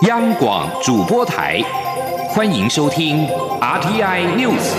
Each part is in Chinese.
央广主播台，欢迎收听 RTI News。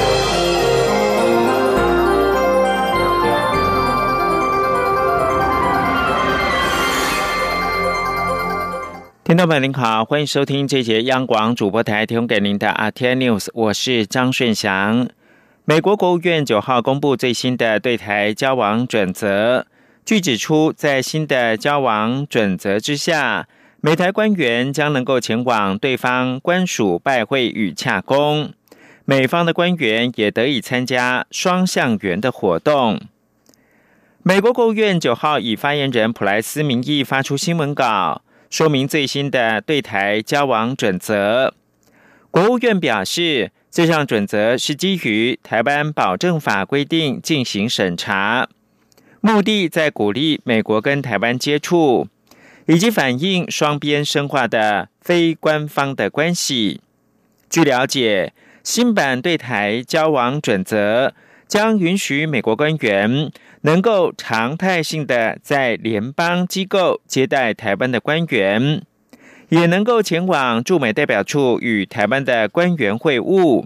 听众朋友您好，欢迎收听这节央广主播台提供给您的 RTI News， 我是张顺祥。美国国务院9号公布最新的对台交往准则，据指出，在新的交往准则之下，美台官员将能够前往对方官署拜会与洽公，美方的官员也得以参加双向圆的活动。美国国务院9号以发言人普莱斯名义发出新闻稿，说明最新的对台交往准则。国务院表示，这项准则是基于台湾保证法规定进行审查，目的在鼓励美国跟台湾接触，以及反映双边深化的非官方的关系。据了解，新版对台交往准则将允许美国官员能够常态性的在联邦机构接待台湾的官员，也能够前往驻美代表处与台湾的官员会晤。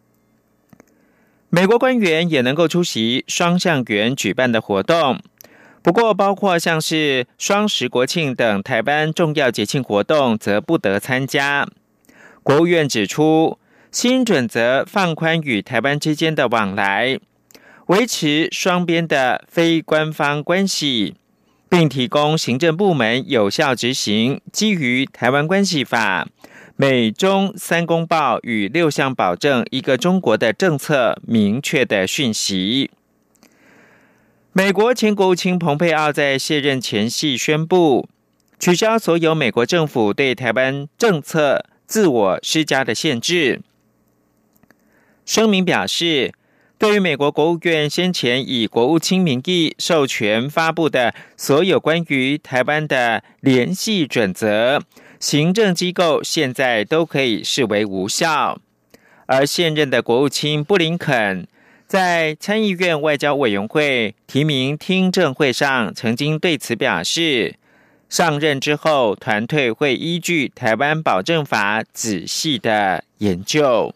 美国官员也能够出席双向圆举办的活动，不过包括像是双十国庆等台湾重要节庆活动则不得参加。国务院指出，新准则放宽与台湾之间的往来，维持双边的非官方关系，并提供行政部门有效执行基于台湾关系法、美中3公报与6项保证一个中国的政策明确的讯息。美国前国务卿蓬佩奥在卸任前夕宣布，取消所有美国政府对台湾政策自我施加的限制。声明表示，对于美国国务院先前以国务卿名义授权发布的所有关于台湾的联系准则，行政机构现在都可以视为无效。而现任的国务卿布林肯在参议院外交委员会提名听证会上曾经对此表示，上任之后团队会依据台湾保证法仔细的研究。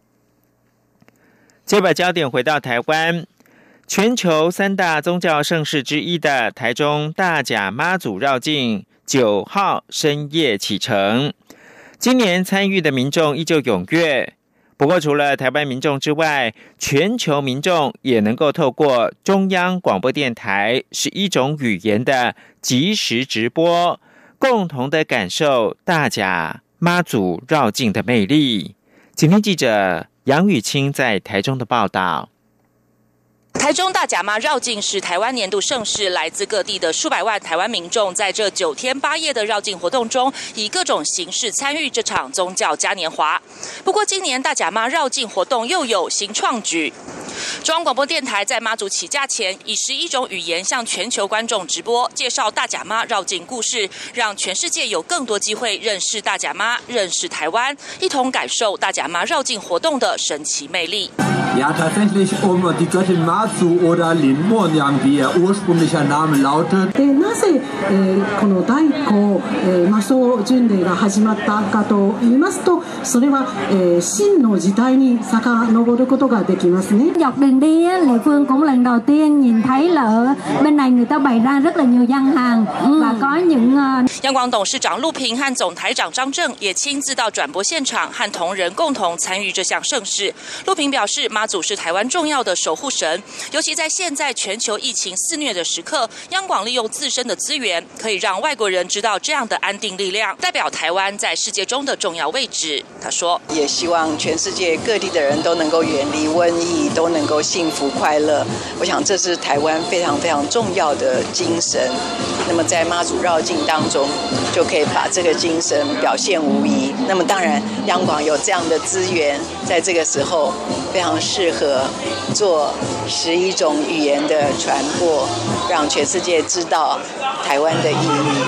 接把焦点回到台湾，全球3大宗教盛事之一的台中大甲妈祖绕境9号深夜启程，今年参与的民众依旧踊跃。不过除了台湾民众之外，全球民众也能够透过中央广播电台11种语言的即时直播，共同的感受大甲妈祖绕境的魅力。今天记者杨雨清在台中的报道。 台中大甲妈绕境是台湾年度盛事，来自各地的数百万台湾民众在这9天8夜的绕境活动中，以各种形式参与这场宗教嘉年华。不过今年大甲妈绕境活动又有新创举，中央广播电台在妈祖起驾前，以11种语言向全球观众直播，介绍大甲妈绕境故事，让全世界有更多机会认识大甲妈，认识台湾，一同感受大甲妈绕境活动的神奇魅力。 Ja, tatsächlich die Göttin Mazu oder Linmonyang, wie ihr ursprünglicher Name lautet. なぜこの大古魔装巡礼が始まったかと言いますと、それは秦の時代に遡ることができますね。 Dọc đường đi, Lệ Phương cũng lần đầu tiên nhìn thấy là ở bên này người ta bày ra rất là nhiều gian hàng và có những 央广董事长陆平和总台长张正也亲自到转播现场，和同仁共同参与这项盛事。陆平表示，妈祖是台湾重要的守护神，尤其在现在全球疫情肆虐的时刻，央广利用自身的资源，可以让外国人知道这样的安定力量，代表台湾在世界中的重要位置。他说， 也希望全世界各地的人都能够远离瘟疫，都能够幸福快乐。我想这是台湾非常非常重要的精神。那么在妈祖绕境当中，就可以把这个精神表现无遗。那么当然，央广有这样的资源，在这个时候非常适合做11种语言的传播，让全世界知道台湾的意义。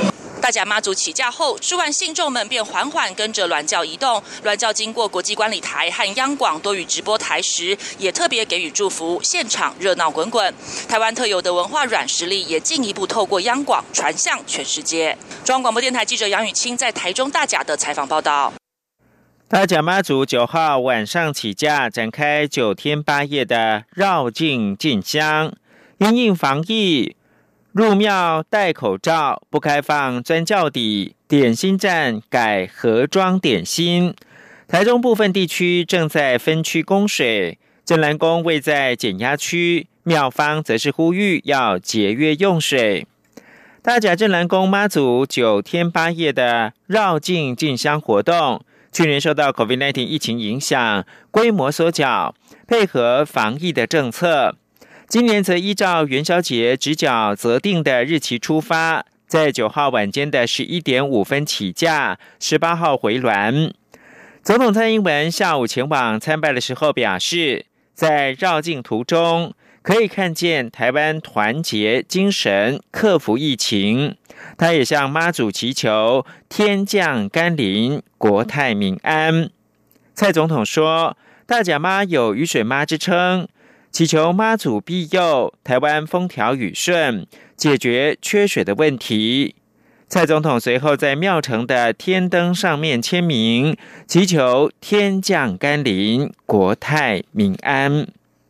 大甲妈祖起驾后，数万信众们便缓缓跟着銮轿移动。銮轿经过国际观礼台和央广多语直播台时，也特别给予祝福，现场热闹滚滚。台湾特有的文化软实力也进一步透过央广传向全世界。中央广播电台记者杨雨清在台中大甲的采访报道。 大甲妈祖9号晚上起驾，展开9天8夜的绕境进香。因应防疫，入庙戴口罩，不开放钻轿底，点心站改盒装点心。台中部分地区正在分区供水，镇澜宫位在减压区，庙方则是呼吁要节约用水。大甲镇澜宫妈祖9天8夜的绕境进香活动，去年受到 COVID-19 疫情影响，规模缩小，配合防疫的政策。今年则依照元宵节直角择定的日期出发，在9号晚间的11点5分起驾，18号回銮。总统蔡英文下午前往参拜的时候表示，在绕境途中可以看见台湾团结精神，克服疫情。他也向妈祖祈求天降甘霖，国泰民安。蔡总统说，大甲妈有雨水妈之称，祈求妈祖庇佑台湾风调雨顺，解决缺水的问题。蔡总统随后在庙城的天灯上面签名，祈求天降甘霖，国泰民安。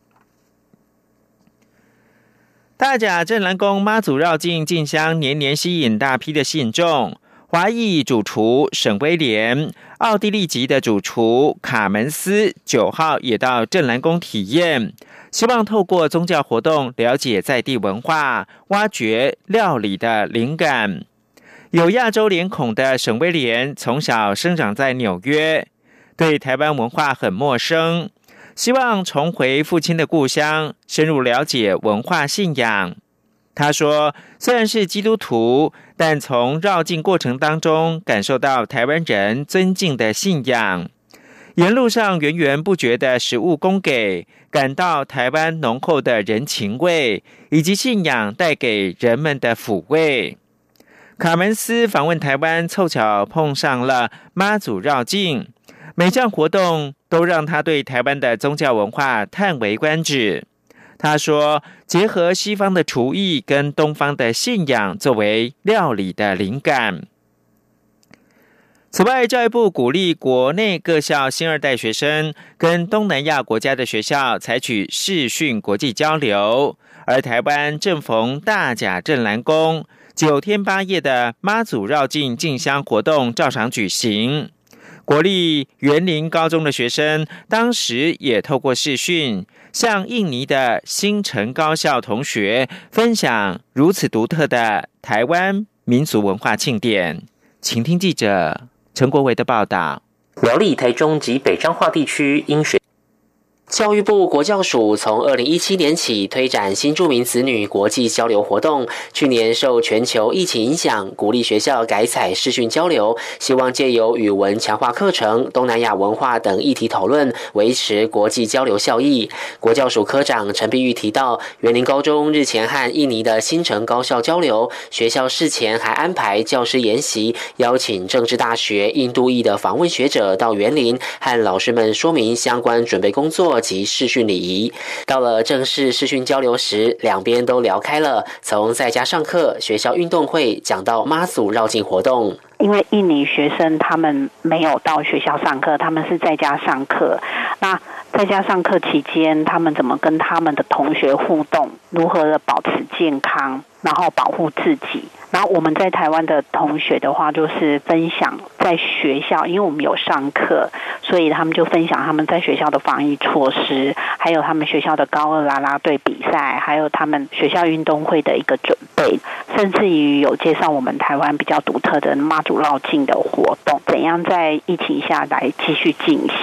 大甲镇澜宫妈祖绕境进香，年年吸引大批的信众。华裔主厨沈威廉、奥地利籍的主厨卡门斯9号也到镇澜宫体验，希望透过宗教活动了解在地文化，挖掘料理的灵感。有亚洲脸孔的沈威廉从小生长在纽约，对台湾文化很陌生，希望重回父亲的故乡，深入了解文化信仰。他说，虽然是基督徒，但从绕境过程当中感受到台湾人尊敬的信仰。沿路上源源不绝的食物供给，感到台湾浓厚的人情味，以及信仰带给人们的抚慰。卡门斯访问台湾，凑巧碰上了妈祖绕境，每项活动都让他对台湾的宗教文化叹为观止。他说，结合西方的厨艺跟东方的信仰作为料理的灵感。此外，教育部鼓励国内各校新2代学生跟东南亚国家的学校采取视讯国际交流，而台湾正逢大甲镇澜宫9天8夜的妈祖绕境进香活动照常举行。国立园林高中的学生当时也透过视讯，向印尼的新城高校同学分享如此独特的台湾民俗文化庆典。请听记者陈国维的报道。 苗栗、台中及北彰化地区因学教育部国教署从2017年起推展新住民子女国际交流活动，去年受全球疫情影响，鼓励学校改采视讯交流，希望借由语文强化课程、东南亚文化等议题讨论，维持国际交流效益。国教署科长陈碧玉提到，园林高中日前和印尼的新城高校交流，学校事前还安排教师研习，邀请政治大学印度裔的访问学者到园林，和老师们说明相关准备工作及视讯礼仪。到了正式视讯交流时，两边都聊开了，从在家上课、学校运动会讲到妈祖绕境活动。 因为印尼学生他们没有到学校上课，他们是在家上课。那在家上课期间，他们怎么跟他们的同学互动，如何的保持健康，然后保护自己。然后我们在台湾的同学的话，就是分享在学校，因为我们有上课，所以他们就分享他们在学校的防疫措施，还有他们学校的高二啦啦队比赛，还有他们学校运动会的一个准备，甚至于有介绍我们台湾比较独特的妈祖绕境的活动，怎样在疫情下来继续进行。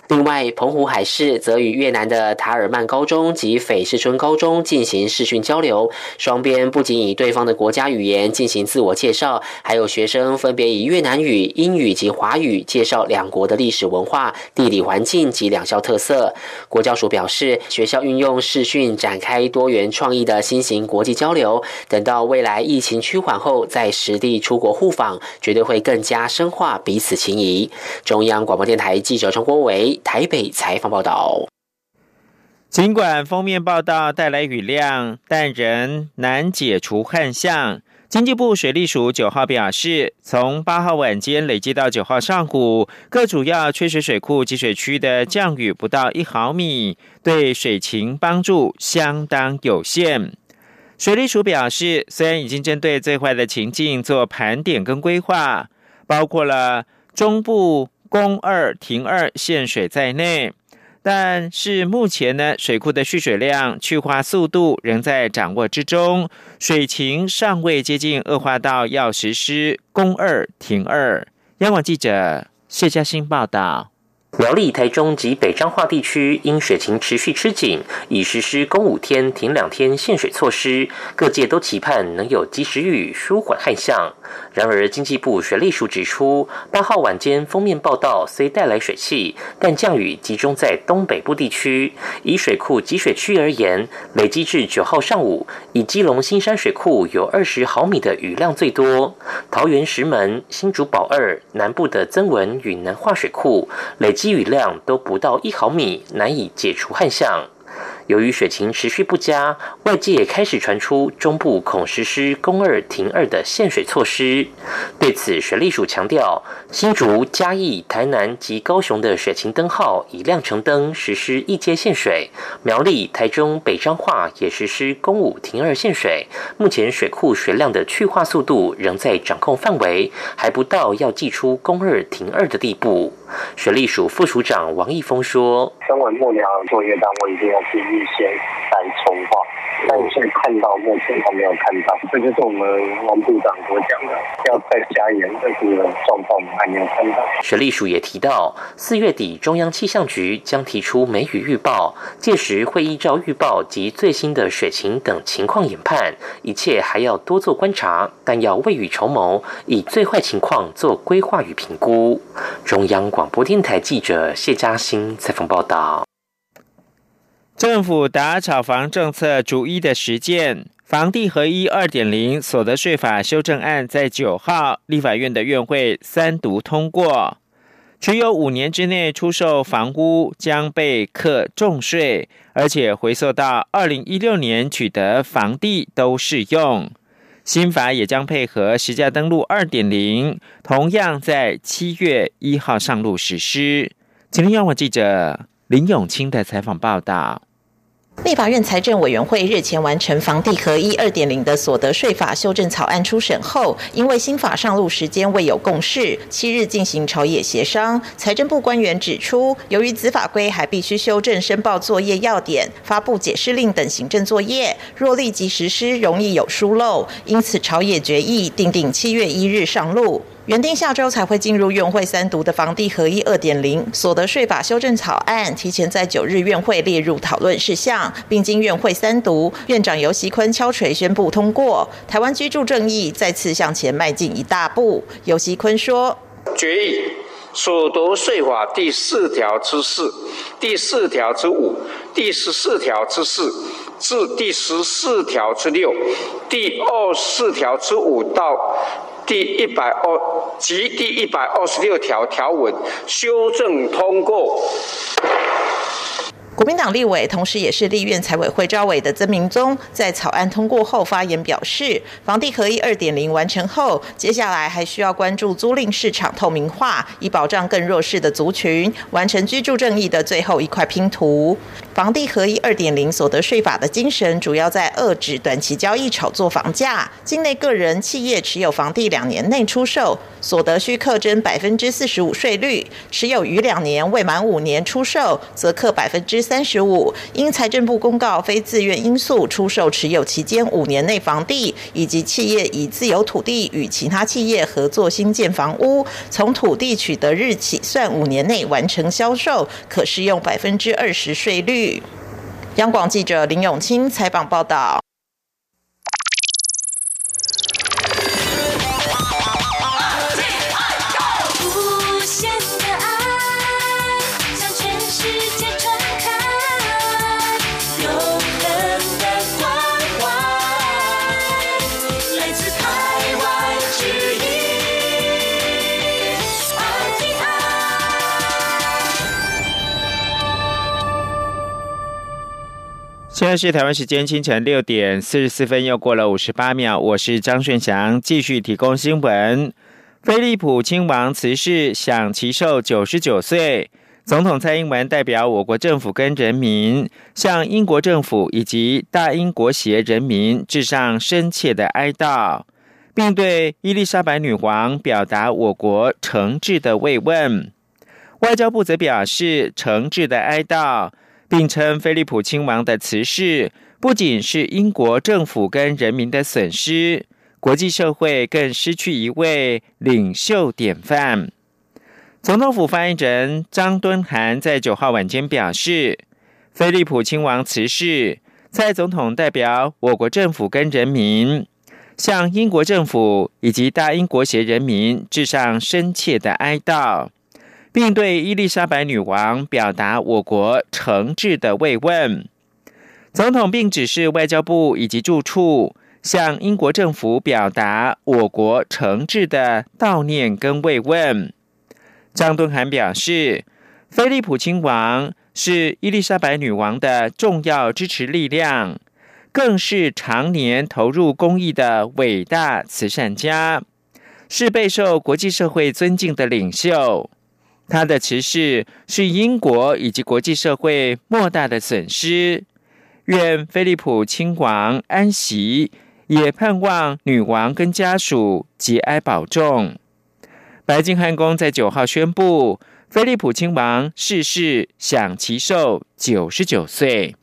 另外，澎湖海事则与越南的塔尔曼高中及斐士春高中进行视讯交流，双边不仅以对方的国家语言进行自我介绍，还有学生分别以越南语、英语及华语介绍两国的历史文化、地理环境及两校特色。国教署表示，学校运用视讯展开多元创意的新型国际交流，等到未来疫情趋缓后，再实地出国互访，绝对会更加深化彼此情谊。中央广播电台记者张国维台北采访报道。 尽管封面报道带来雨量，但仍难解除旱象。经济部水利署9号表示，从8号晚间累积到9号上午，各主要缺水水库集水区的降雨不到1毫米，对水情帮助相当有限。水利署表示，虽然已经针对最坏的情境做盘点跟规划，包括了中部供2停2限水在内，但是目前呢，水库的蓄水量、去化速度仍在掌握之中，水情尚未接近恶化到要实施供2停2。央广记者谢嘉欣报道。 苗栗、台中及北彰化地区因水情持续吃紧，已实施供5天停2天限水措施，各界都期盼能有及时雨舒缓旱象。然而，经济部水利署指出，8号晚间封面报道虽带来水汽，但降雨集中在东北部地区。以水库集水区而言，累积至9号上午，以基隆新山水库有20毫米的雨量最多，桃园石门、新竹宝2南部的曾文与南化水库累积雨量都不到1毫米，难以解除旱象。由于水情持续不佳，外界也开始传出中部恐实施供2停2的限水措施。对此，水利署强调，新竹、嘉义、台南及高雄的水情灯号已亮橙灯，实施1阶限水；苗栗、台中、北彰化也实施供5停2限水。目前水库水量的去化速度仍在掌控范围，还不到要祭出供2停2的地步。水利署副署长王义峰说：“ 身为幕僚作业单位，一定要去预先再筹划，但是看到目前还没有看到，这就是我们王部长所讲的，要再加严这个状况，我们还没有看到。” 水利署也提到，4月底中央气象局将提出梅雨预报，届时会依照预报及最新的水情等情况研判，一切还要多做观察，但要未雨绸缪，以最坏情况做规划与评估。中央广播电台记者谢嘉欣采访报道。 政府打炒房政策逐一的实践，房地合一 2.0 所得税法修正案在9号立法院的院会3读通过，持有5年之内出售房屋将被课重税，而且回溯到2016年取得房地都适用。新法也将配合实价登录 2.0， 同样在7月1号上路实施。今天央广记者林永清的采访报道。 立法院财政委员会日前完成房地合一 2.0 的所得税法修正草案初审后，因为新法上路时间未有共识，7日进行朝野协商。财政部官员指出，由于子法规还必须修正申报作业要点、发布解释令等行政作业，若立即实施容易有疏漏，因此朝野决议订定7月1日上路。原定下周才会进入院会3读的房地合一 2.0 所得税法修正草案，提前在9日院会列入讨论事项，并经院会3读，院长游锡堃敲锤宣布通过。台湾居住正义再次向前迈进一大步。游锡堃说：“ 决议所得税法第4条之4、第4条之5、第14条之4至第14条之6、第24条之5到第126条条文修正通过。” 国民党立委，同时也是立院财委会召委的曾明宗，在草案通过后发言表示，房地合一 2.0 完成后，接下来还需要关注租赁市场透明化，以保障更弱势的族群，完成居住正义的最后一块拼图。房地合一 2.0 所得税法的精神，主要在遏止短期交易炒作房价，境内个人、企业持有房地2年内出售，所得需课征 45% 税率；持有逾2年未满5年出售，则课 40% 35%，因财政部公告非自愿因素出售持有期间5年内房地，以及企业以自有土地与其他企业合作新建房屋，从土地取得日起算5年内完成销售，可适用20%税率。央广记者林永清采访报道。 现在是台湾时间清晨6点44分，又过了58秒。我是张顺祥，继续提供新闻。菲利普亲王辞世，享其寿99岁。总统蔡英文代表我国政府跟人民，向英国政府以及大英国协人民致上深切的哀悼，并对伊丽莎白女王表达我国诚挚的慰问。外交部则表示诚挚的哀悼，并称菲利普亲王的辞世不仅是英国政府跟人民的损失，国际社会更失去一位领袖典范。总统府发言人张敦涵在9号晚间表示，菲利普亲王辞世，蔡总统代表我国政府跟人民，向英国政府以及大英国协人民致上深切的哀悼，并对伊丽莎白女王表达我国诚挚的慰问。总统并指示外交部以及驻处向英国政府表达我国诚挚的悼念跟慰问。张敦涵表示，菲利普亲王是伊丽莎白女王的重要支持力量，更是常年投入公益的伟大慈善家，是备受国际社会尊敬的领袖。他的辞世是英国以及国际社会莫大的损失，愿菲利普亲王安息，也盼望女王跟家属节哀保重。白金汉宫在9号宣布，菲利普亲王逝世，享其寿99岁。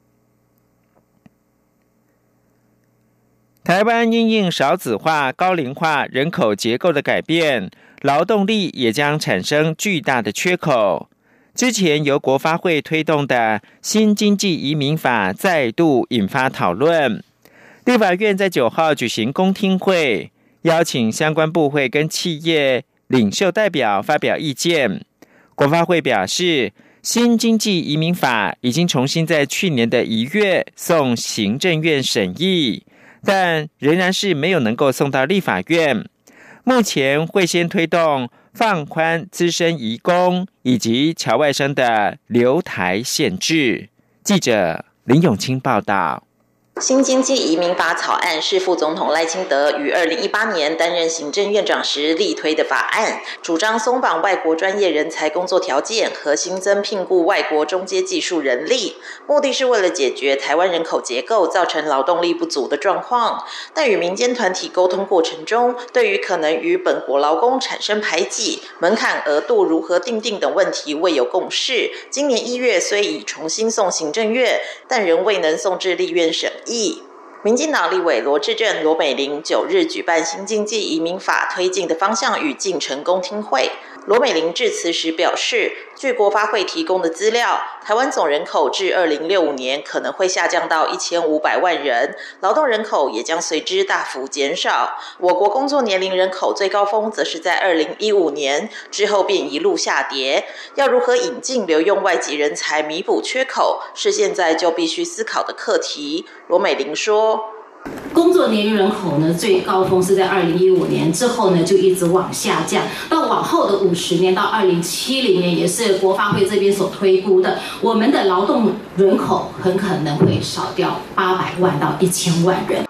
台湾因应少子化、高龄化人口结构的改变，劳动力也将产生巨大的缺口。之前由国发会推动的新经济移民法再度引发讨论。立法院在9号举行公听会，邀请相关部会跟企业领袖代表发表意见。国发会表示，新经济移民法已经重新在去年的1月送行政院审议，但仍然是没有能够送到立法院。目前会先推动放宽资深移工以及侨外生的留台限制。记者林永清报道。 新经济移民法草案是副总统赖清德于2018年担任行政院长时力推的法案，主张松绑外国专业人才工作条件和新增聘雇外国中阶技术人力，目的是为了解决台湾人口结构造成劳动力不足的状况。但与民间团体沟通过程中，对于可能与本国劳工产生排挤、门槛额度如何定定等问题未有共识。今年1月虽已重新送行政院，但仍未能送至立院审议。民进党立委罗致政、罗美玲9日举办新经济移民法推进的方向与进程公听会。罗美玲致辞时表示，据国发会提供的资料，台湾总人口至2065年可能会下降到1500万人，劳动人口也将随之大幅减少。我国工作年龄人口最高峰则是在2015年，之后便一路下跌。要如何引进留用外籍人才弥补缺口，是现在就必须思考的课题。罗美玲说， 工作年龄人口呢，最高峰是在2015年，之后呢就一直往下降，到往后的50年到2070年，也是国发会这边所推估的，我们的劳动人口很可能会少掉800万到1000万人。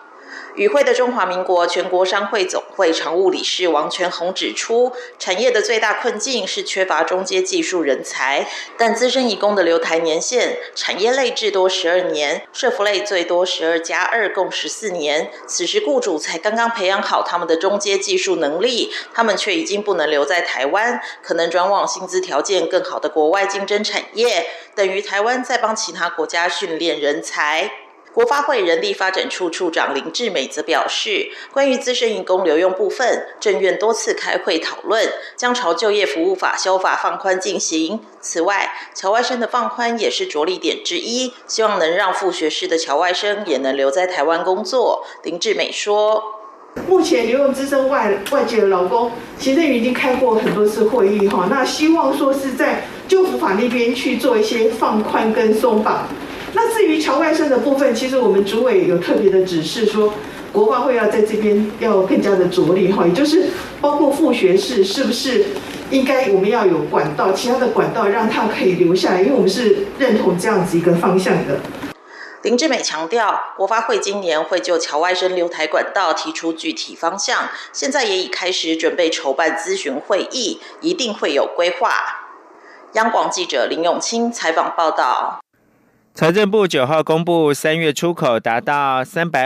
与会的中华民国全国商会总会常务理事王全宏指出，产业的最大困境是缺乏中阶技术人才，但资深移工的留台年限，产业类至多12年，社福类最多12+2共14年。此时雇主才刚刚培养好他们的中阶技术能力，他们却已经不能留在台湾，可能转往薪资条件更好的国外竞争产业，等于台湾在帮其他国家训练人才。国发会人力发展处处长林志美则表示，关于资深移工留用部分，政院多次开会讨论，将朝就业服务法修法放宽进行。此外，侨外生的放宽也是着力点之一，希望能让副学士的侨外生也能留在台湾工作。林志美说， 目前留用资深外籍的劳工，行政院已经开过很多次会议哈，那希望说是在就服法那边去做一些放宽跟松绑。那至于侨外生的部分，其实我们主委有特别的指示说，国发会要在这边要更加的着力哈，也就是包括副学士是不是应该我们要有管道，其他的管道让他可以留下来，因为我们是认同这样子一个方向的。 林志美强调，国发会今年会就侨外生留台管道提出具体方向，现在也已开始准备筹办咨询会议，一定会有规划。央广记者林永清采访报道。 财政部9号公布3月出口达到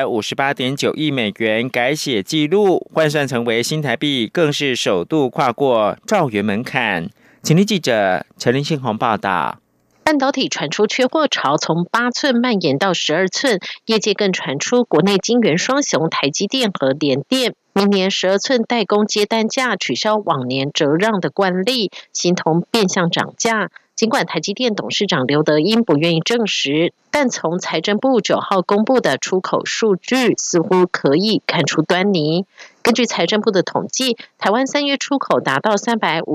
358.9亿美元，改写纪录，换算成为新台币更是首度跨过兆元门槛。请听记者陈林信宏报道。 半导体传出缺货潮，从8寸蔓延到12寸，业界更传出国内晶圆双雄台积电和联电明年12寸代工接单价取消往年折让的惯例，形同变相涨价。尽管台积电董事长刘德音不愿意证实，但从财政部9号公布的出口数据似乎可以看出端倪。根据财政部的统计，台湾3月出口达到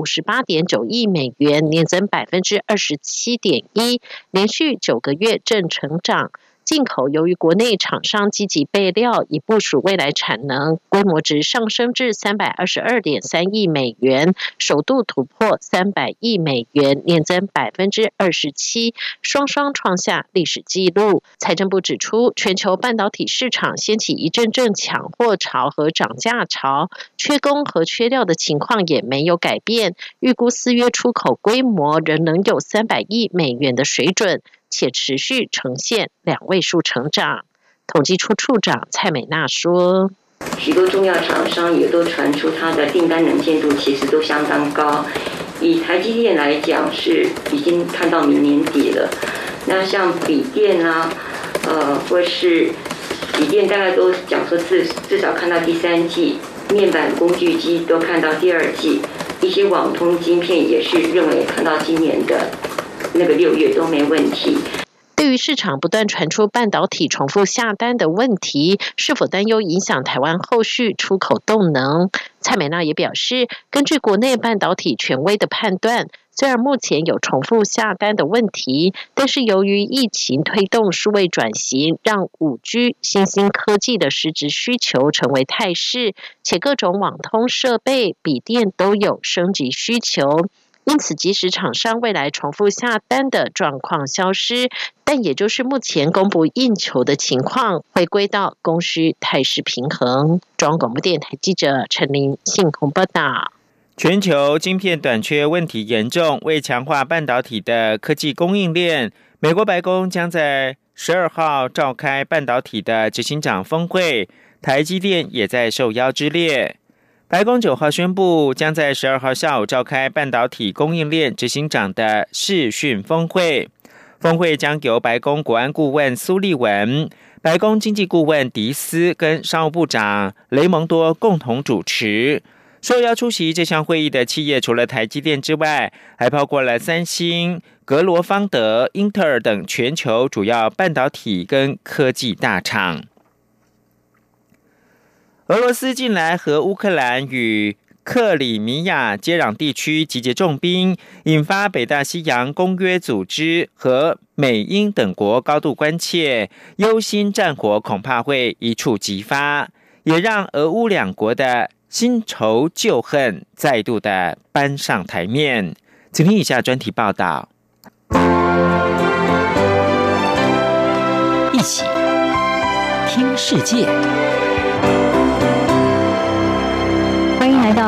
358.9亿美元，年增27.1%，连续9个月正成长。进口由于国内厂商积极备料，以部署未来产能，规模值上升至322.3亿美元，首度突破300亿美元，年增27%，双双创下历史纪录。财政部指出，全球半导体市场掀起一阵阵抢货潮和涨价潮，缺工和缺料的情况也没有改变，预估4月出口规模仍能有300亿美元的水准，且持续呈现2位数成长。统计处处长蔡美娜说， 许多重要厂商也都传出它的订单能见度其实都相当高，以台积电来讲是已经看到明年底了。那像笔电啊，或是笔电大概都讲说至少看到第3季，面板工具机都看到第2季，一些网通晶片也是认为看到今年的那个6月都没问题。 对于市场不断传出半导体重复下单的问题，是否担忧影响台湾后续出口动能？蔡美娜也表示，根据国内半导体权威的判断，虽然目前有重复下单的问题，但是由于疫情推动数位转型，让 5G 新兴科技的实质需求成为态势，且各种网通设备、笔电都有升级需求。因此，即使厂商未来重复下单的状况消失，但也就是目前供不应求的情况，回归到供需态势平衡。中央广播电台记者陈琳信鸿报道。 全球晶片短缺问题严重，为强化半导体的科技供应链，美国白宫将在12号召开半导体的执行长峰会，台积电也在受邀之列。白宫9号宣布，将在12号下午召开半导体供应链执行长的视讯峰会。峰会将由白宫国安顾问苏利文、白宫经济顾问迪斯跟商务部长雷蒙多共同主持。受邀出席这项会议的企业除了台积电之外，还包括了三星、格罗方德、英特尔等全球主要半导体跟科技大厂。俄罗斯近来和乌克兰与克里米亚接壤地区集结重兵，引发北大西洋公约组织和美英等国高度关切，忧心战火恐怕会一触即发，也让俄乌两国的新仇旧恨再度的搬上台面。请听以下专题报道。 一起听世界，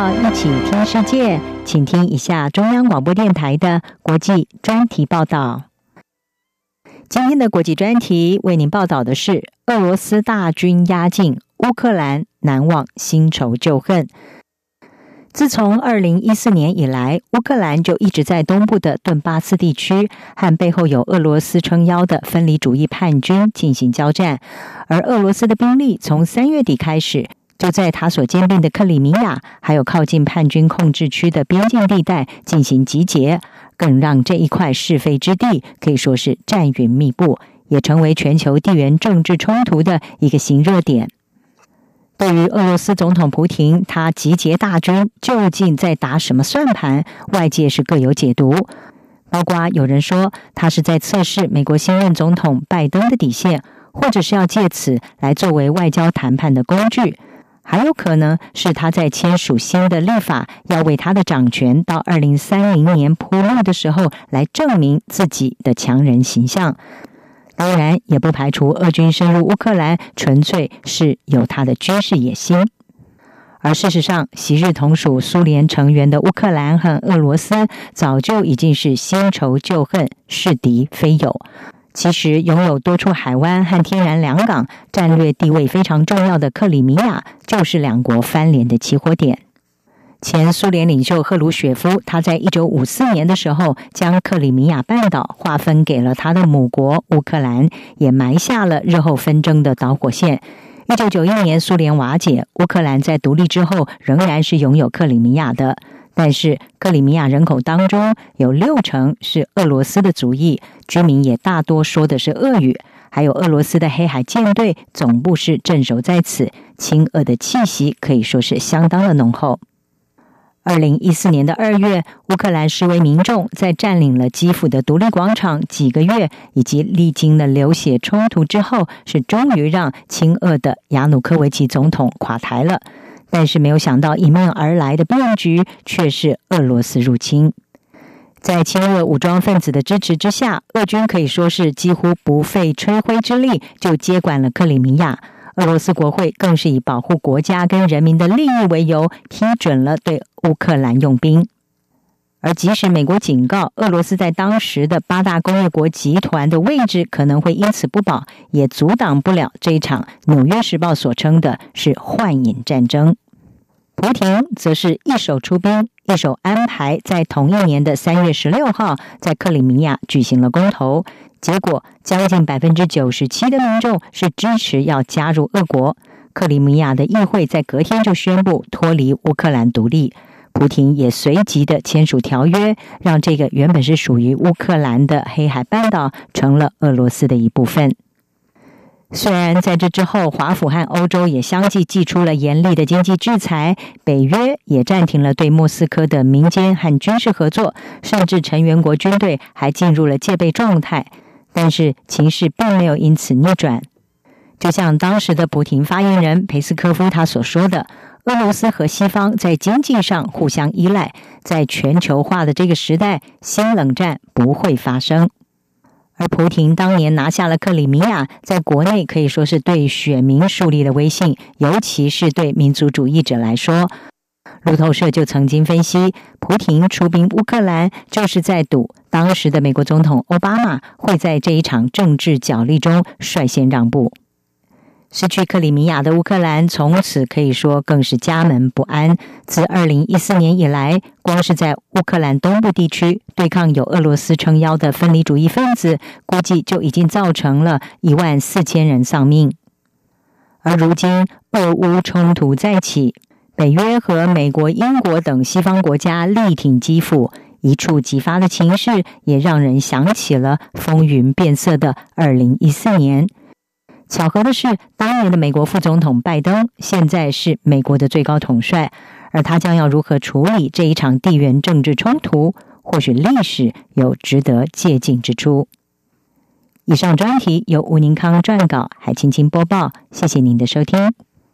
道，一起听世界，请听一下中央广播电台的国际专题报道。今天的国际专题为您报道的是：俄罗斯大军压境，乌克兰难忘新仇旧恨。自从2014年以来，乌克兰就一直在东部的顿巴斯地区和背后有俄罗斯撑腰的分离主义叛军进行交战，而俄罗斯的兵力从3月底开始就在他所兼并的克里米亚还有靠近叛军控制区的边境地带进行集结，更让这一块是非之地可以说是战云密布，也成为全球地缘政治冲突的一个新热点。对于俄罗斯总统普亭，他集结大军究竟在打什么算盘，外界是各有解读。包括有人说他是在测试美国新任总统拜登的底线，或者是要借此来作为外交谈判的工具，还有可能是他在签署新的立法，要为他的掌权到2030年铺路的时候来证明自己的强人形象。当然也不排除俄军深入乌克兰纯粹是有他的军事野心。而事实上，昔日同属苏联成员的乌克兰和俄罗斯早就已经是新仇旧恨，是敌非友。其实拥有多处海湾和天然良港，战略地位非常重要的克里米亚就是两国翻脸的起火点。前苏联领袖赫鲁雪夫，他在1954年的时候将克里米亚半岛划分给了他的母国乌克兰，也埋下了日后纷争的导火线。1991年苏联瓦解，乌克兰在独立之后仍然是拥有克里米亚的，但是克里米亚人口当中有60%是俄罗斯的族裔，居民也大多说的是俄语，还有俄罗斯的黑海舰队总部是镇守在此，亲俄的气息可以说是相当的浓厚。2014年的2月，乌克兰示威民众在占领了基辅的独立广场几个月，以及历经了流血冲突之后，是终于让亲俄的亚努科维奇总统垮台了。但是没有想到迎面而来的变局却是俄罗斯入侵。在亲俄武装分子的支持之下，俄军可以说是几乎不费吹灰之力就接管了克里米亚。俄罗斯国会更是以保护国家跟人民的利益为由，批准了对乌克兰用兵。而即使美国警告俄罗斯在当时的8大工业国集团的位置可能会因此不保，也阻挡不了这一场纽约时报所称的是幻影战争。普亭则是一手出兵，一手安排在同一年的3月16号在克里米亚举行了公投，结果将近 97% 的民众是支持要加入俄国。克里米亚的议会在隔天就宣布脱离乌克兰独立，普亭也随即的签署条约，让这个原本是属于乌克兰的黑海半岛成了俄罗斯的一部分。虽然在这之后，华府和欧洲也相继祭出了严厉的经济制裁，北约也暂停了对莫斯科的民间和军事合作，甚至成员国军队还进入了戒备状态，但是情势并没有因此逆转。就像当时的普亭发言人佩斯科夫他所说的，俄罗斯和西方在经济上互相依赖，在全球化的这个时代，新冷战不会发生。而普亭当年拿下了克里米亚，在国内可以说是对选民树立了威信，尤其是对民族主义者来说。路透社就曾经分析，普亭出兵乌克兰就是在赌当时的美国总统奥巴马会在这一场政治角力中率先让步。失去克里米亚的乌克兰从此可以说更是家门不安。自2014年以来，光是在乌克兰东部地区对抗有俄罗斯撑腰的分离主义分子，估计就已经造成了14000人丧命。而如今俄乌冲突再起，北约和美国、英国等西方国家力挺基辅，一触即发的情势也让人想起了风云变色的2014年。巧合的是，当年的美国副总统拜登现在是美国的最高统帅，而他将要如何处理这一场地缘政治冲突，或许历史有值得借鉴之处。以上专题由吴宁康撰稿，海青青播报，谢谢您的收听。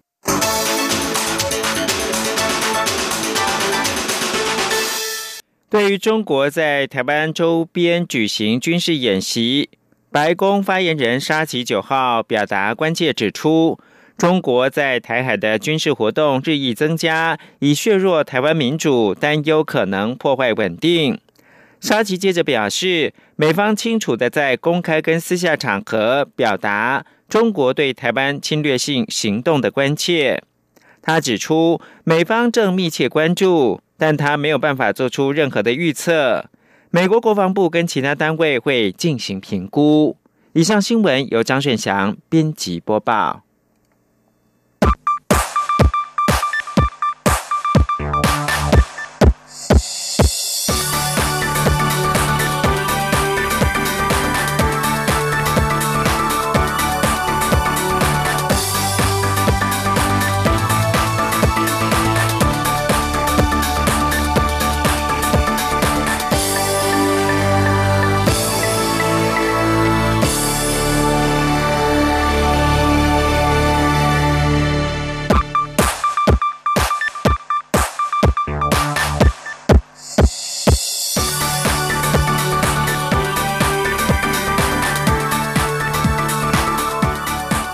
对于中国在台湾周边举行军事演习，白宫发言人沙奇9号表达关切，指出中国在台海的军事活动日益增加，以削弱台湾民主，担忧可能破坏稳定。沙奇接着表示，美方清楚地在公开跟私下场合表达中国对台湾侵略性行动的关切。他指出，美方正密切关注，但他没有办法做出任何的预测。美国国防部跟其他单位会进行评估。以上新闻由张顺祥编辑播报。